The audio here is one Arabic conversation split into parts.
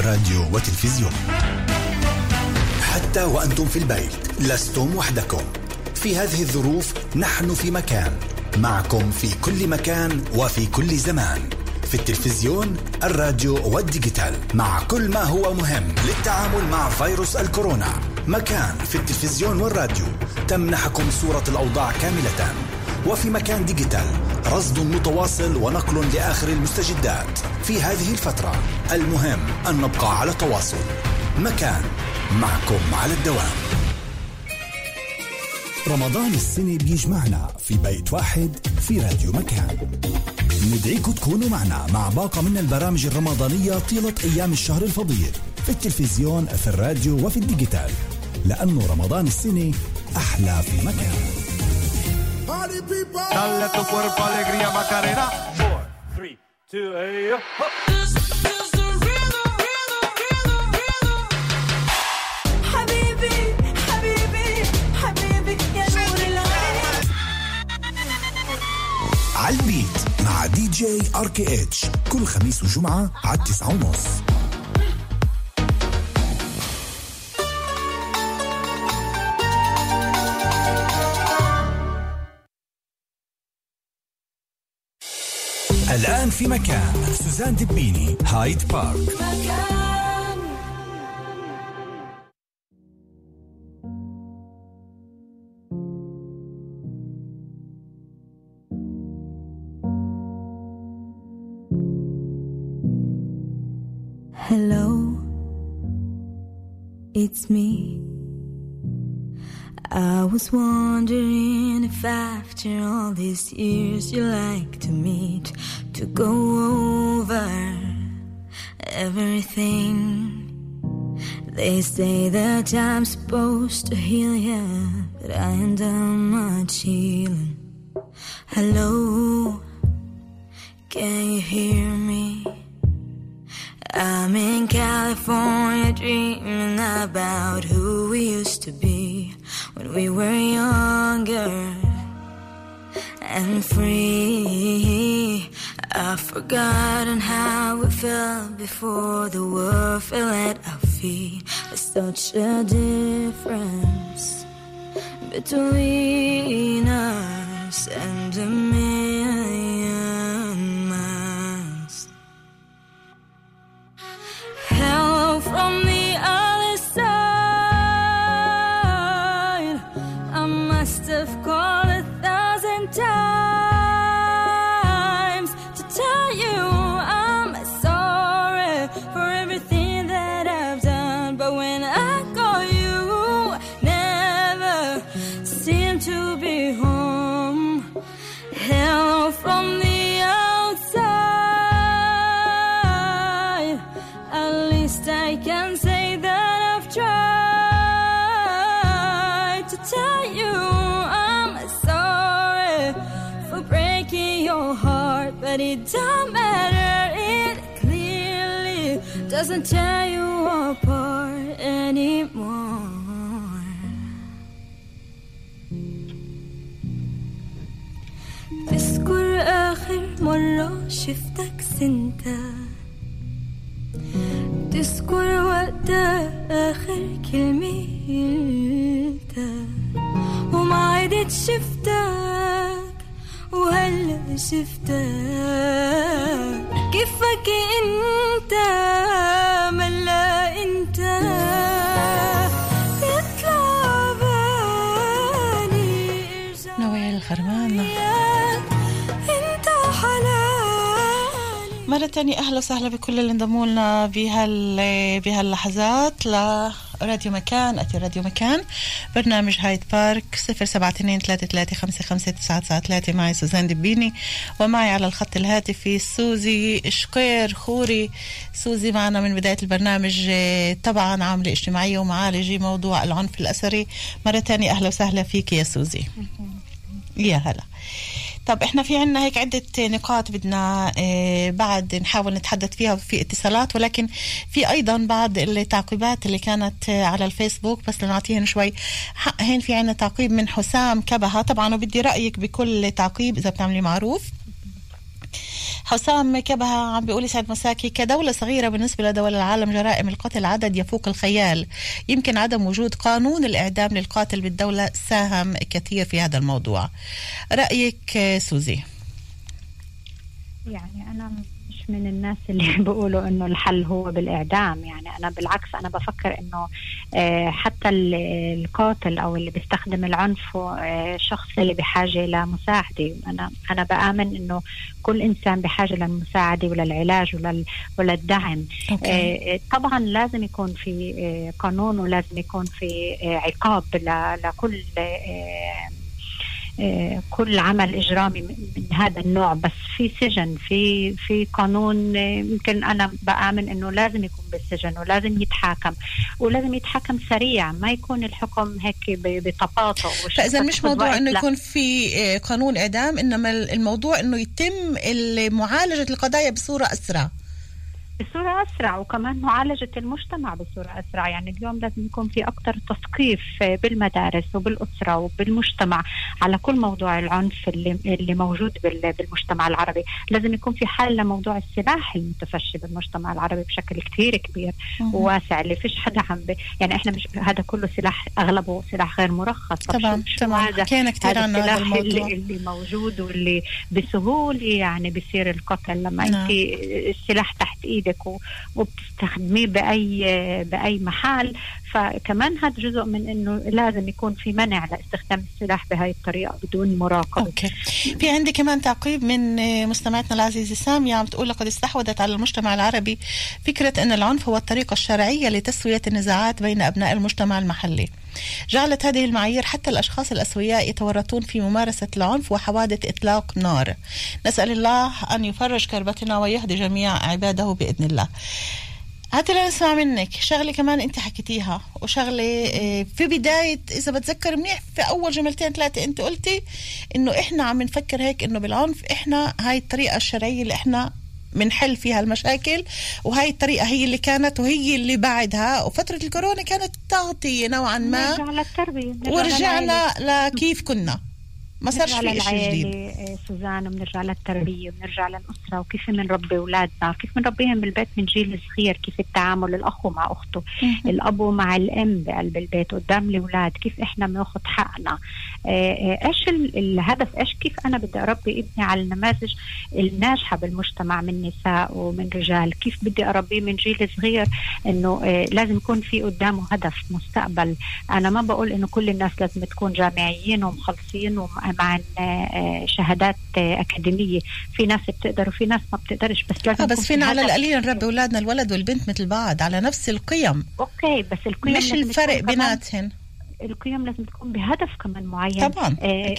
راديو وتلفزيون. حتى وأنتم في البيت لستم وحدكم في هذه الظروف. نحن في مكان معكم في كل مكان وفي كل زمان، في التلفزيون، الراديو والديجيتال، مع كل ما هو مهم للتعامل مع فيروس الكورونا. مكان في التلفزيون والراديو تمنحكم صورة الأوضاع كاملة، وفي مكان ديجيتال رصد متواصل ونقل لآخر المستجدات. في هذه الفترة المهم أن نبقى على تواصل. مكان معكم على الدوام. رمضان السنة بيجمعنا في بيت واحد في راديو مكان. ندعيكم تكونوا معنا مع باقة من البرامج الرمضانية طيلة أيام الشهر الفضيل، في التلفزيون، في الراديو وفي الديجيتال، لأنه رمضان السنة أحلى في مكان. Dale tu cuerpo alegría Macarena. 4, 3, 2, حبيبي حبيبي حبيبي يا نور العين. عالبيت مع دي جي RKH كل خميس وجمعة على 9:30. الآن في مكان سوزان دبيني، هايد بارك. مكان. Hello, it's me. I was wondering if after all these years you like to meet, to go over everything. They say that I'm supposed to heal you, but I ain't done much healing. Hello, can you hear me? I'm in California dreaming about who we used to be when we were younger and free. I've forgotten how we felt before the world fell at our feet. There's such a difference between us and a million miles. Hello from the other side. I must have called 1,000 times to tell you I'm sorry for everything that I've done. But when I call you, never seem to be home. Hello from the outside. At least I can say that I've tried to tell you I'm sorry for breaking your heart, but it don't matter. It clearly doesn't tear you apart anymore. تذكر آخر مرة شفتك سنتا؟ تذكر وقتها آخر كلمة قلتها؟ وما عدت شفتك وهلا شفتك. كيفك انت ملا انت يطلع بالي ارجع نويل الخرمانة. انت حلالي. مرة تانية أهلا وسهلا بكل اللي انضموا لنا بهاللحظات لراديو مكان. أتي راديو مكان، برنامج هايد بارك. 0723355993 معي سوزان دبيني، ومعي على الخط الهاتفي سوزي شقير خوري. سوزي معنا من بداية البرنامج، طبعا عاملة اجتماعية ومعالجة موضوع العنف الأسري. مرة تانية أهلا وسهلا فيك يا سوزي. يا هلا. طب احنا في عنا هيك عدة نقاط بدنا بعد نحاول نتحدث فيها في اتصالات، ولكن في ايضا بعض التعقيبات اللي كانت على الفيسبوك، بس لنعطيهن شوي حق. هين في عنا تعقيب من حسام كبهة طبعا، وبدي رأيك بكل تعقيب إذا بتعملي معروف. حسام كبهة عم بيقول سعد مساكي كدولة صغيرة بالنسبة لدول العالم جرائم القتل عدد يفوق الخيال. يمكن عدم وجود قانون الإعدام للقاتل بالدولة ساهم كثير في هذا الموضوع. رأيك سوزي؟ يعني أنا مش من الناس اللي بيقولوا إنه الحل هو بالإعدام. يعني أنا بالعكس، أنا بفكر إنه حتى القاتل أو اللي بيستخدم العنف شخص اللي بحاجة لمساعدة. أنا بآمن إنه كل إنسان بحاجة للمساعدة وللعلاج وللدعم. طبعا لازم يكون في قانون ولازم يكون في عقاب لكل كل عمل إجرامي من هذا النوع، بس في سجن، في قانون. يمكن أنا بآمن إنه لازم يكون بالسجن ولازم يتحاكم ولازم يتحاكم سريع، ما يكون الحكم هيك بتباطؤ. فإذا مش موضوع إنه يكون في قانون إعدام، إنما الموضوع إنه يتم معالجة القضايا بصورة أسرع، وكمان معالجة المجتمع بصورة أسرع. يعني اليوم لازم يكون في أكتر تثقيف بالمدارس وبالأسرة وبالمجتمع على كل موضوع العنف اللي موجود بالمجتمع العربي. لازم يكون في حل لموضوع السلاح المتفشي بالمجتمع العربي بشكل كتير كبير وواسع، اللي فيش حدا يعني إحنا مش هذا كله سلاح، أغلبه سلاح غير مرخص. طبعا كان كتير عن هذا الموضوع اللي موجود واللي بسهولة يعني بيصير القتل لما أنت السلاح تحت إيدك وبتستخدميه بأي محل. فكمان هذا جزء من إنه لازم يكون في منع لاستخدام السلاح بهاي الطريقة بدون مراقبة. أوكي. في عندي كمان تعقيب من مستمعتنا العزيزة سامية عم تقول لقد استحوذت على المجتمع العربي فكرة أن العنف هو الطريقة الشرعية لتسوية النزاعات بين أبناء المجتمع المحلي. جعلت هذه المعايير حتى الأشخاص الأسوياء يتورطون في ممارسة العنف وحوادث إطلاق نار. نسأل الله أن يفرج كربتنا ويهدي جميع عباده بإذن الله. هاتي نسمع منك شغلة كمان أنت حكيتيها، وشغلة في بداية إذا بتذكر منيح في أول جملتين ثلاثة أنت قلتي إنه إحنا عم نفكر هيك إنه بالعنف إحنا هاي الطريقة الشرعية اللي إحنا منحل فيها المشاكل، وهي الطريقة هي اللي كانت وهي اللي بعدها. وفترة الكورونا كانت تغطية نوعا ما، ورجعنا لكيف كنا، ما صارش في شيء جديد. سوزان، بنرجع للتربية وبنرجع للأسرة وكيف بنربي أولادنا، كيف بنربيهم بالبيت من جيل صغير، كيف التعامل الأخو مع أخته، الأب مع الأم بقلب البيت قدام الأولاد، كيف إحنا بناخد حقنا، إيش الهدف، إيش كيف أنا بدي أربي ابني على النماذج الناجحة بالمجتمع من نساء ومن رجال، كيف بدي أربيه من جيل صغير إنه لازم يكون في قدامه هدف مستقبل. أنا ما بقول إنه كل الناس لازم تكون جامعيين ومخلصين مع شهادات أكاديمية، في ناس بتقدر وفي ناس ما بتقدرش، بس لازم بس فينا على القليل نربي أولادنا الولد والبنت مثل بعض على نفس القيم. أوكي، بس القيم مش الفرق بيناتهن، القيم لازم تكون بهدف كمان معين. طبعا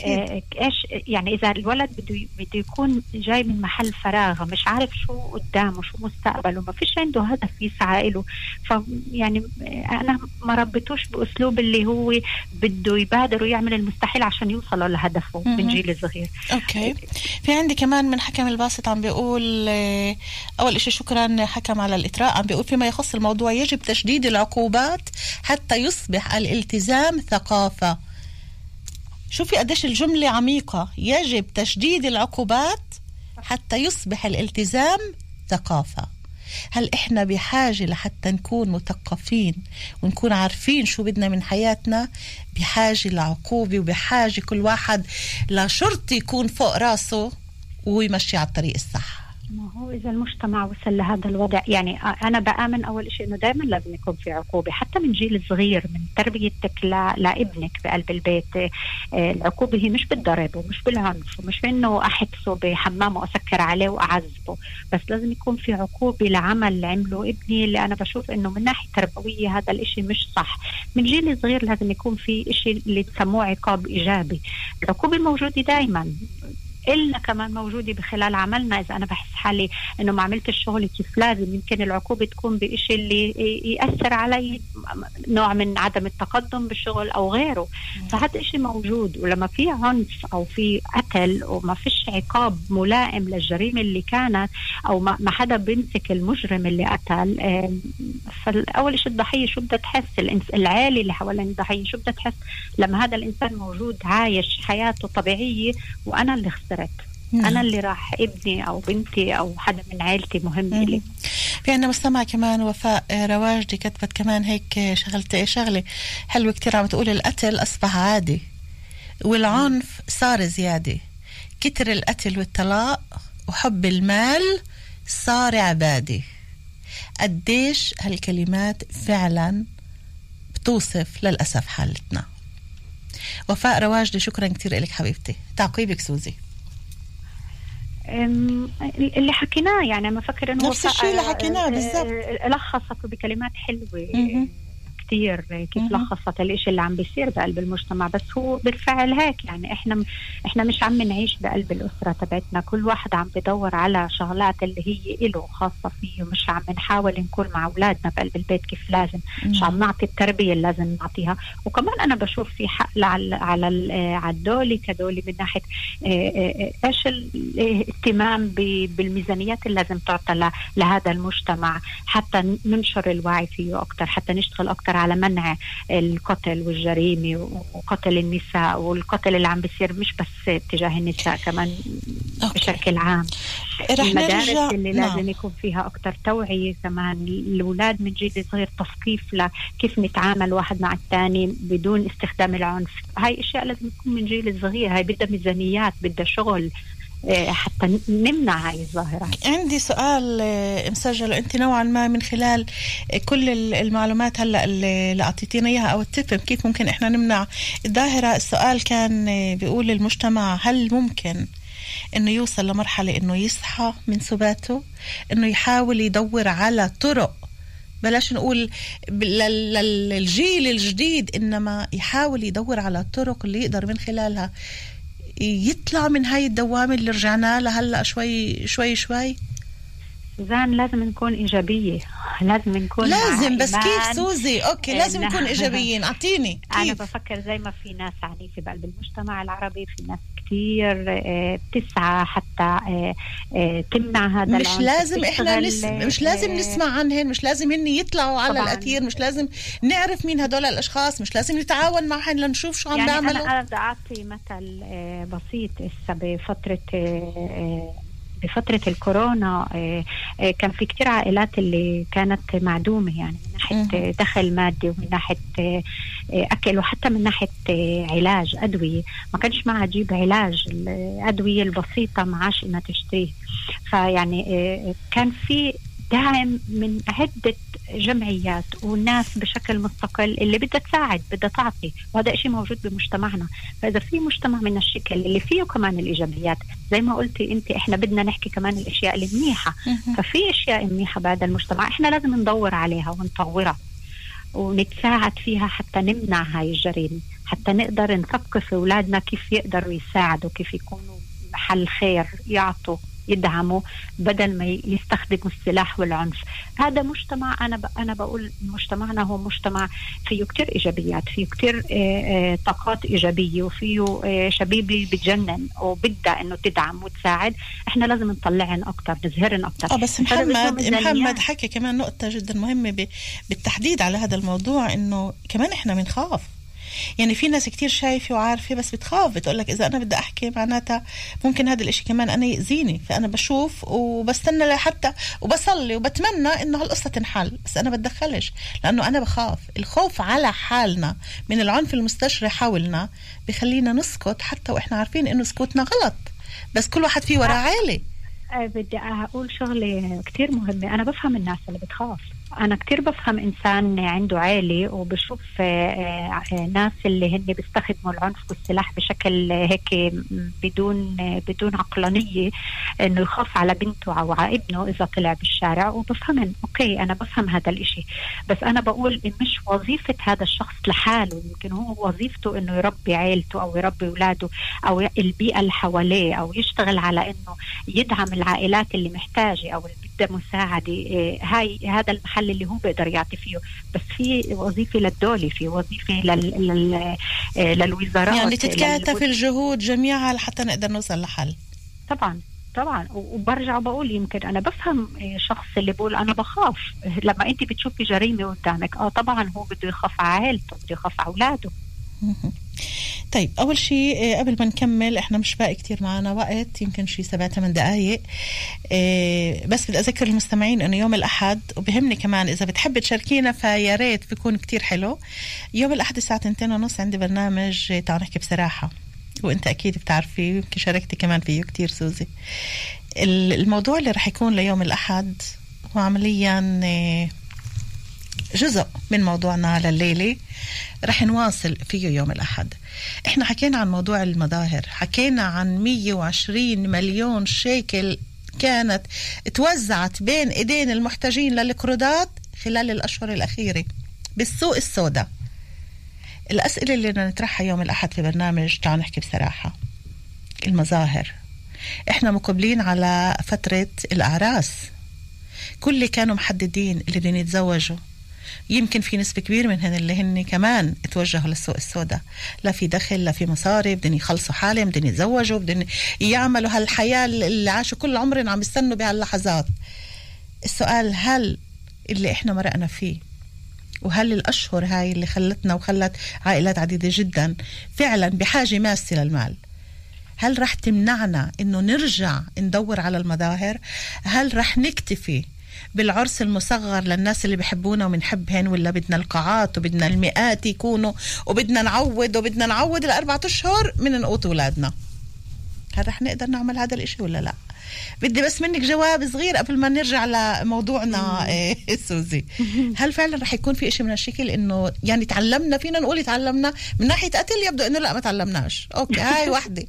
ايش يعني اذا الولد بده يكون جاي من محل فراغ، مش عارف شو قدامه شو مستقبله، ما فيش عنده هدف يسعى له، فيعني انا ما ربيتوش باسلوب اللي هو بده يبادر ويعمل المستحيل عشان يوصل لهدفه من جيل صغير. اوكي. في عندي كمان من حكم الباسط عم بيقول اول شيء شكرا حكم على الاطراء، عم بيقول فيما يخص الموضوع يجب تشديد العقوبات حتى يصبح الالتزام ثقافة. شوفي قديش الجملة عميقة، يجب تشديد العقوبات حتى يصبح الالتزام ثقافة. هل إحنا بحاجة لحتى نكون مثقفين ونكون عارفين شو بدنا من حياتنا؟ بحاجة لعقوبة، وبحاجة كل واحد لشرطي يكون فوق راسه ويمشي على الطريق الصح. ما هو إذا المجتمع وصل لهذا الوضع، يعني أنا بآمن أول شيء إنه دائما لازم يكون في عقوبة حتى من جيل صغير، من تربيتك لابنك بقلب البيت. العقوبة هي مش بالضرب ومش بالعنف ومش بإنه أحبسه بحمامه وأسكر عليه وأعذبه، بس لازم يكون في عقوبة لعمل عمله ابني اللي أنا بشوف إنه من ناحية تربوية هذا الإشي مش صح. من جيل صغير لازم يكون في إشي اللي تسموه عقاب إيجابي. العقوبة موجودة دائما، إلا كمان موجودة بخلال عملنا. إذا أنا بحس حالي إنه ما عملت الشغل كيف لازم، يمكن العقوبة تكون بإشي اللي يأثر علي، نوع من عدم التقدم بالشغل أو غيره. فهذا إشي موجود. ولما في عنف أو في قتل وما فيش عقاب ملائم للجريمة اللي كانت، أو ما حدا بيمسك المجرم اللي قتل، فالأول إشي الضحية شو بدها تحس، العائلة اللي حوالين الضحية شو بدها تحس لما هذا الإنسان موجود عايش حياته طبيعية وأنا اللي خسرت. أنا اللي راح ابني أو بنتي أو حدا من عائلتي مهم لي. في عنا مستمع كمان وفاء رواجدي كتبت كمان هيك شغلة حلوة كتير، عم تقول القتل أصبح عادي والعنف صار زيادة، كتر القتل والطلاق وحب المال صار عبادة. قديش هالكلمات فعلا بتوصف للأسف حالتنا. وفاء رواجدي شكرا كتير لك حبيبتي. تعقيبك سوزي؟ اللي حكيناه يعني ما فكر انه نفس الشيء اللي حكيناه بالضبط، لخصته بكلمات حلوه كتير كيف لخصت الاشي اللي عم بيصير بقلب المجتمع. بس هو بالفعل هيك يعني احنا مش عم نعيش بقلب الاسره تبعتنا، كل واحد عم بدور على شغلات اللي هي له خاصه فيه، ومش عم نحاول نكون مع اولادنا بقلب البيت كيف لازم، مش عم نعطي التربيه اللي لازم نعطيها. وكمان انا بشوف في حق على الدولي كدولي من ناحيه ايش الاهتمام بالميزانيات اللي لازم تعطى لهذا المجتمع، حتى ننشر الوعي فيه اكثر، حتى نشتغل اكثر على منع القتل والجريمة وقتل النساء والقتل اللي عم بيصير مش بس تجاه النساء، كمان بشكل عام. المدارس اللي لازم يكون فيها أكتر توعية، كمان الأولاد من جيل صغير تثقيف لكيف نتعامل واحد مع الثاني بدون استخدام العنف. هاي أشياء لازم تكون من جيل صغير، هاي بدها ميزانيات، بدها شغل حتى نمنع هاي الظاهرة. عندي سؤال مسجل أنت نوعا ما من خلال كل المعلومات هلأ اللي أعطيتينا إياها أو التفهم كيف ممكن إحنا نمنع الظاهرة. السؤال كان بيقول المجتمع هل ممكن إنه يوصل لمرحلة إنه يصحى من سباته، إنه يحاول يدور على طرق، بلاش نقول للجيل الجديد، إنما يحاول يدور على الطرق اللي يقدر من خلالها يطلع من هاي الدوامة اللي رجعنا لها هلأ شوي شوي شوي؟ سوزان لازم نكون إيجابية، لازم بس كيف سوزي؟ أوكي لازم نكون إيجابيين، أعطيني كيف. أنا بفكر زي ما في ناس عنيفة بقلب المجتمع العربي، في ناس كتير بتسعى حتى تمنع هذا مش لازم إحنا مش لازم نسمع عنهن، مش لازم هن يطلعوا على الأثير، مش لازم نعرف مين هدول الأشخاص، مش لازم نتعاون معهن لنشوف شو عم بيعملوا. أنا بدي أعطي مثل بسيط. بفترة الكورونا كان في كتير عائلات اللي كانت معدومة، يعني من ناحية دخل مادي ومن ناحية أكل وحتى من ناحية علاج أدوية، ما كانش معها تجيب علاج، الأدوية البسيطة معاش إنها تشتريه. فيعني كان في دعم من عدة جمعيات والناس بشكل مستقل اللي بدها تساعد، بدها تعطي، وهذا إشي موجود بمجتمعنا. فإذا في مجتمع من الشكل اللي فيه كمان الإيجابيات زي ما قلتي أنت، إحنا بدنا نحكي كمان الأشياء المنيحة. ففي أشياء منيحة بهذا المجتمع إحنا لازم ندور عليها ونطورها ونتساعد فيها حتى نمنع هاي الجريمة، حتى نقدر نثقف أولادنا كيف يقدروا يساعدوا، كيف يكونوا محل خير، يعطوا، يدعموا بدل ما يستخدموا السلاح والعنف. هذا مجتمع أنا بقول مجتمعنا هو مجتمع فيه كتير إيجابيات، فيه كتير طاقات إيجابية، وفيه شبيبي بتجنن وبدها إنه تدعم وتساعد. إحنا لازم نطلعن أكتر، نظهرن أكتر. بس محمد حكي كمان نقطة جدا مهمة بالتحديد على هذا الموضوع، إنه كمان إحنا بنخاف. يعني في ناس كتير شايفة وعارفة بس بتخاف، بتقولك إذا أنا بدي أحكي معناتها ممكن هذا الإشي كمان أنا يأذيني، فأنا بشوف وبستنى لحتى وبصلي وبتمنى إنه هالقصة تنحل، بس أنا بتدخلش لأنه أنا بخاف. الخوف على حالنا من العنف المستشري حولنا بخلينا نسكت حتى وإحنا عارفين إنه سكوتنا غلط، بس كل واحد فيه وراه عالي. بدي أقول شغلة كتير مهمة. أنا بفهم الناس اللي بتخاف، أنا كتير بفهم إنسان عنده عائلة وبشوف ناس اللي هن بيستخدموا العنف والسلاح بشكل هيك بدون عقلانية، إنه يخاف على بنته أو على ابنه إذا طلع بالشارع، وبفهم أوكي أنا بفهم هذا الإشي. بس أنا بقول مش وظيفة هذا الشخص لحاله، يمكن هو وظيفته إنه يربي عائلته أو يربي أولاده أو البيئة اللي حواليه، أو يشتغل على إنه يدعم العائلات اللي محتاجة أو اللي بدها مساعدة. هذا المحل اللي هو بيقدر يعطي فيه. بس في وظيفة للدولة، في وظيفة للوزارات، يعني تتكاتف الجهود جميعها لحتى نقدر نوصل لحل. طبعا وبرجع بقول يمكن أنا بفهم شخص اللي بقول أنا بخاف لما أنت بتشوفي جريمة قدامك. طبعا هو بده يخاف على عائلته، بده يخاف على أولاده. طيب أول شيء قبل ما نكمل، إحنا مش باقي كتير معنا وقت، يمكن شيء 7-8 دقايق. بس بدي أذكر المستمعين إنه يوم الأحد، وبهمني كمان إذا بتحب تشاركينا فيا ريت بيكون كتير حلو. يوم الأحد الساعة 2:30 عندي برنامج تعال نحكي بصراحة، وإنت أكيد بتعرفي يمكن شاركتي كمان فيه كتير سوزي. الموضوع اللي رح يكون ليوم الأحد هو عمليا جزء من موضوعنا لليلة، رح نواصل فيه يوم الأحد. احنا حكينا عن موضوع المظاهر، حكينا عن 120 مليون شيكل كانت توزعت بين ايدين المحتاجين للقروضات خلال الأشهر الأخيرة بالسوق السوداء. الأسئلة اللي بدنا نطرحها يوم الأحد في برنامج تعال نحكي بصراحة، المظاهر. احنا مقبلين على فترة الأعراس، كل اللي كانوا محددين اللي بدهم يتزوجوا، يمكن في نسبة كبير منهن اللي هن كمان اتوجهوا للسوق السوداء، لا في دخل لا في مصاري، بدهم يخلصوا حالهم، بدهم يتزوجوا، بدهم يعملوا هالحياة اللي عاشوا كل عمرنا عم يستنوا بهاللحظات. السؤال، هل اللي احنا مرقنا فيه وهل الأشهر هاي اللي خلتنا وخلت عائلات عديدة جدا فعلا بحاجة ماسة للمال، هل رح تمنعنا انه نرجع ندور على المظاهر؟ هل رح نكتفي بالعرس المصغر للناس اللي بيحبونا ومنحبهن، ولا بدنا القاعات وبدنا المئات يكونوا وبدنا نعود 4 أشهر من نقوط أولادنا؟ هل رح نقدر نعمل هذا الاشي ولا لا؟ بدي بس منك جواب صغير قبل ما نرجع لموضوعنا. سوزي، هل فعلا رح يكون في اشي من هالشكل انه يعني تعلمنا، فينا نقول تعلمنا من ناحية قتل؟ يبدو انه لا، ما تعلمناش. اوكي، هاي واحدة.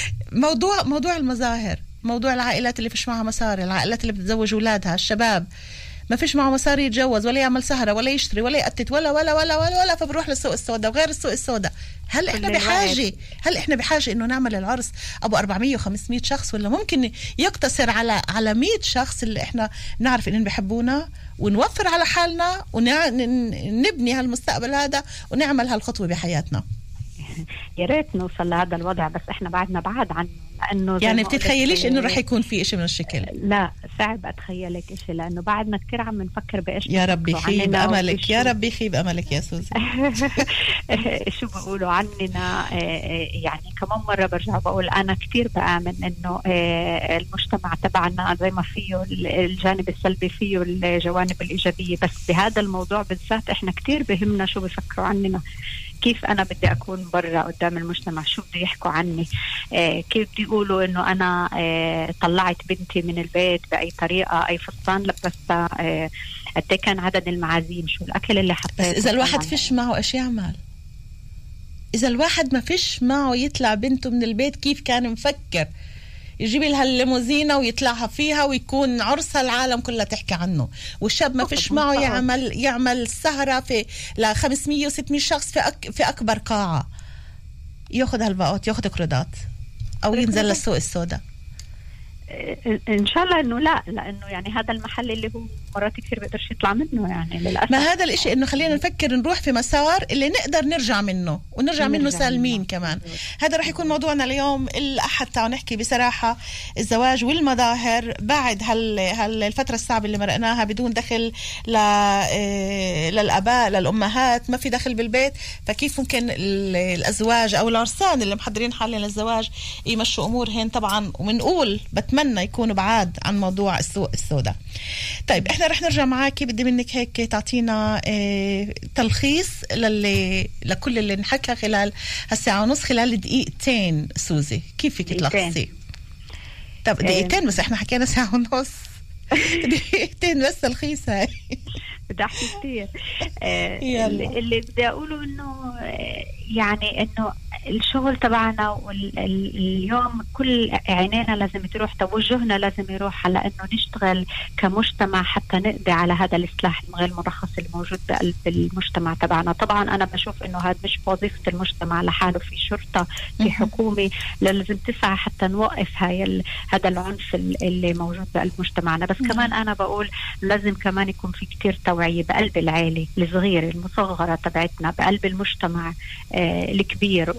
موضوع المظاهر، موضوع العائلات اللي فيش معها مصاري، العائلات اللي بتتزوج أولادها، الشباب ما فيش معه مصاري يتجوز ولا يعمل سهرة ولا يشتري ولا يقتت ولا ولا ولا ولا ولا فبروح للسوق السوداء وغير السوق السوداء. هل احنا بحاجة انه نعمل العرس ابو 400 و500 شخص، ولا ممكن يقتصر على 100 شخص اللي احنا نعرف انهم بيحبونا ونوفر على حالنا ونبني هالمستقبل هذا ونعمل هالخطوة بحياتنا؟ يا ريت نوصل لهذا الوضع، بس احنا بعدنا بعد عنه. لأنه يعني بتتخيليش انه رح يكون في اشي من الشكل؟ لا، صعب اتخيلك اشي، لانه بعدنا كتير عم نفكر بايش. يا ربي خيب املك، يا ربي خيب املك يا سوزي. شو بقولوا عننا؟ يعني كمان مرة برجع بقول انا كتير بآمن انه المجتمع تبعنا زي ما فيه الجانب السلبي فيه الجوانب الايجابية، بس بهذا الموضوع بالذات احنا كتير بهمنا شو بفكروا عننا، كيف أنا بدي أكون برا قدام المجتمع، شو بدي يحكوا عني، كيف بدي يقولوا إنه أنا طلعت بنتي من البيت بأي طريقة، أي فستان لبستها، قد كان عدد المعازيم، شو الأكل اللي حطيته. إذا الواحد فيش معه إيش يعمل؟ إذا الواحد ما فيش معه يطلع بنته من البيت، كيف كان مفكر يجيب لها الليموزينة ويطلعها فيها ويكون عرسها العالم كلها تحكي عنه؟ والشاب ما فيش معه يعمل سهرة في 500 و600 شخص في أكبر قاعة، ياخد هالباقات، ياخد قروضات، أو ينزل للسوق السوداء. إن شاء الله إنه لا، لأنه يعني هذا المحل اللي هو مرات كثير بقدرش يطلع منه، يعني للأسف. ما هذا الإشي، إنه خلينا نفكر نروح في مسار اللي نقدر نرجع منه ونرجع منه سالمين كمان. هذا رح يكون موضوعنا اليوم الأحد. تعالوا نحكي بصراحة الزواج والمظاهر بعد الفترة الصعبة اللي مرقناها بدون دخل للأباء للأمهات، ما في دخل بالبيت، فكيف ممكن الأزواج أو العرسان اللي محضرين حالهم للزواج يمشوا أمورهن طبعا، ومنقول بتمنى يكونوا بعاد عن موضوع السوق السوداء. طيب احنا رح نرجع معاكي، بدي منك هيك تعطينا تلخيص لكل اللي نحكى خلال هالساعة ونص، خلال دقيقتين. سوزي، كيف فيك تلخصي؟ طب دقيقتين بس، احنا حكينا ساعة ونص. دقيقتين بس تلخيص هاي. بدي احكي كتير. اللي بدي اقوله انه يعني انه الشغل تبعنا واليوم كل عينينا لازم تروح، توجهنا لازم يروح على انه نشتغل كمجتمع حتى نقضي على هذا السلاح غير مرخص الموجود بقلب المجتمع تبعنا. طبعا انا بشوف انه هذا مش وظيفة المجتمع لحاله، في شرطة، في حكومة لازم تسعى حتى نوقف هذا العنف اللي موجود بقلب مجتمعنا. بس كمان انا بقول لازم كمان يكون في كتير توعية بقلب العائلة الصغيرة المصغرة تبعتنا، بقلب المجتمع الكبير،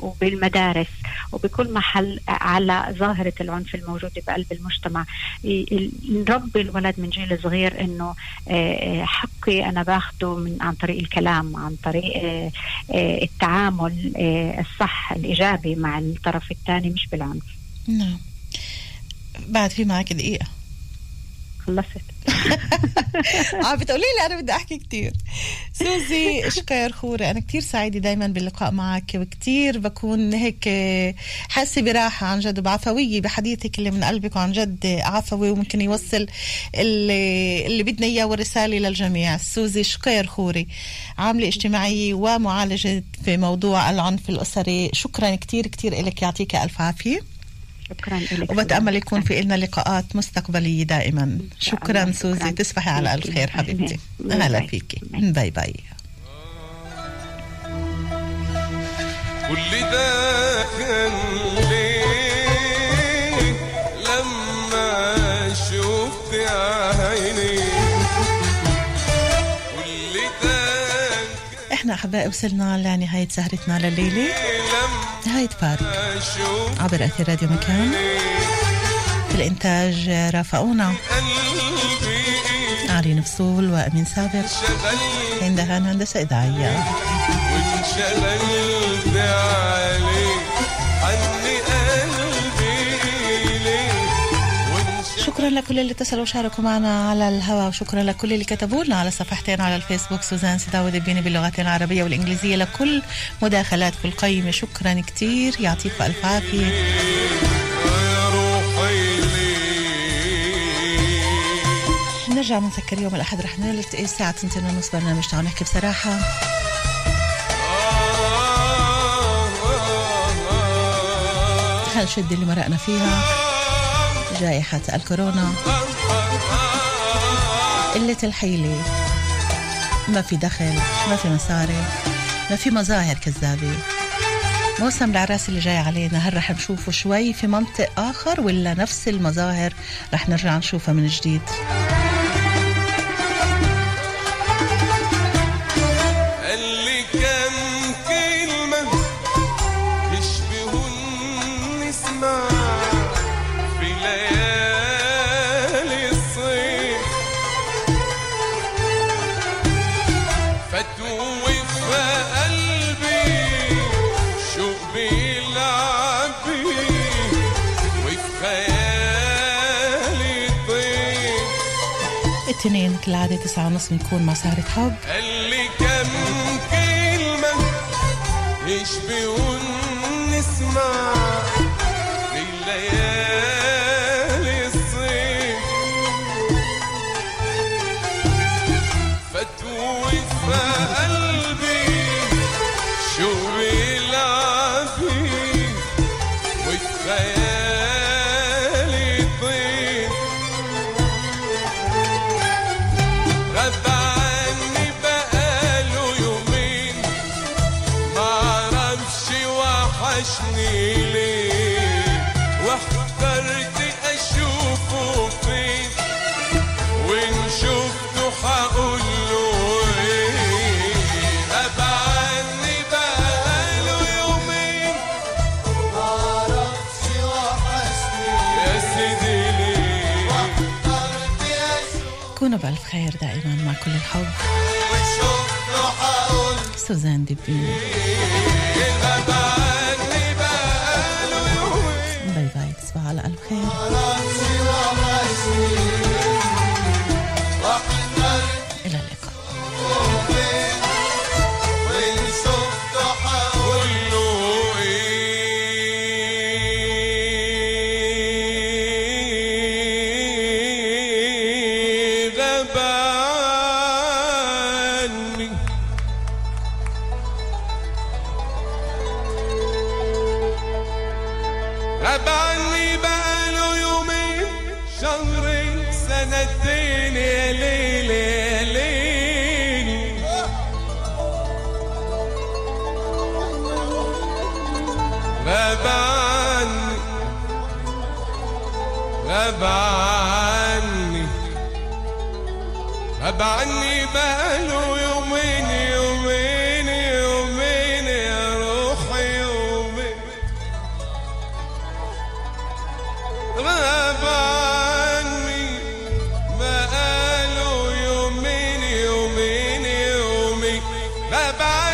وبالمدارس وبكل محل على ظاهرة العنف الموجودة بقلب المجتمع. نربي الولد من جيل صغير إنه حقي أنا باخده عن طريق الكلام، عن طريق التعامل الصح الإيجابي مع الطرف الثاني، مش بالعنف. نعم. بعد في معك دقيقة خلصت. بتقولي لي أنا بدي أحكي كتير. سوزي شكير خوري، أنا كتير سعيدة دايما باللقاء معك، وكتير بكون هيك حاسة براحة عن جد وبعفوية بحديثك اللي من قلبك، وعن جد عفوي وممكن يوصل اللي بدنا إياه والرسالة للجميع. سوزي شكير خوري، عاملة اجتماعية ومعالجة في موضوع العنف الأسري. شكرا كتير كتير إلك، يعطيك ألف عافية. شكرا لك، وبتأمل يكون في لنا لقاءات مستقبلية دائما. شكرا سوزي، تصبحي على ألف خير حبيبتي. أهلا فيكي، باي باي. كل ده كان ليه لما شفت عيني، كل ده. احنا أحبائي وصلنا لنهاية سهرتنا لليلة، نهاية فارق عبر أثير راديو مكان. في الإنتاج رافقونا علي نفصول وأمين سابق، عندها هندسة إذاعية. وانشغلت عليك عني قلبي ليه. شكرا لكل اللي اتصلوا وشاركوا معنا على الهواء، وشكرا لكل اللي كتبوا لنا على صفحتين على الفيسبوك، سوزان سداوي دبيني باللغتين العربية والإنجليزية، لكل مداخلاتكم القيمة شكرا كتير، يعطيكم ألف عافية. نرجع بنذكر يوم الأحد رح نلتقي الساعة 2:30 برنامج تعالوا نحكي بصراحة. هالشدة اللي مرقنا فيها، جائحة الكورونا، قلة الحيلة، ما في دخل، ما في مصاري، ما في مظاهر كذابة. موسم العراس اللي جاي علينا، هل رح نشوفه شوي في منطق آخر ولا نفس المظاهر رح نرجع نشوفها من جديد؟ اللي كان كلمة يشبهن نسمع في ليالي الصيف، فتوه في قلبي شوق بيلعب بيه، وفي خيالي طيف. الاثنين كالعادة 9:30 بنكون مع سهرة حب. اللي كم كلمة يشبهن نسمع في ليالي الصيف، فتوه في قلبي شو بيلعب فيه، وفي خيالي طيف. غاب عني بقاله يومين، معرفش وحشني ليه، واحترت اشوفه فين، وان شفته حقوله ايه. غاب عني بقاله يومين، معرفش وحشني يا سيدي ليه، واحترت اشوفه كونوا بألف خير دائما مع كل الحب. وشفته حقوله. سوزان دبيني، غاب عني بقاله يومين، باي باي، تصبحوا على ألف خير. إلى اللقاء. غاب عني بقاله يومين، شهرين، سنتين، يا ليل يا ليل. غاب عني، غاب عني، غاب عني بقاله يومين، يومين، يومين، يا روحي يومين. غاب عني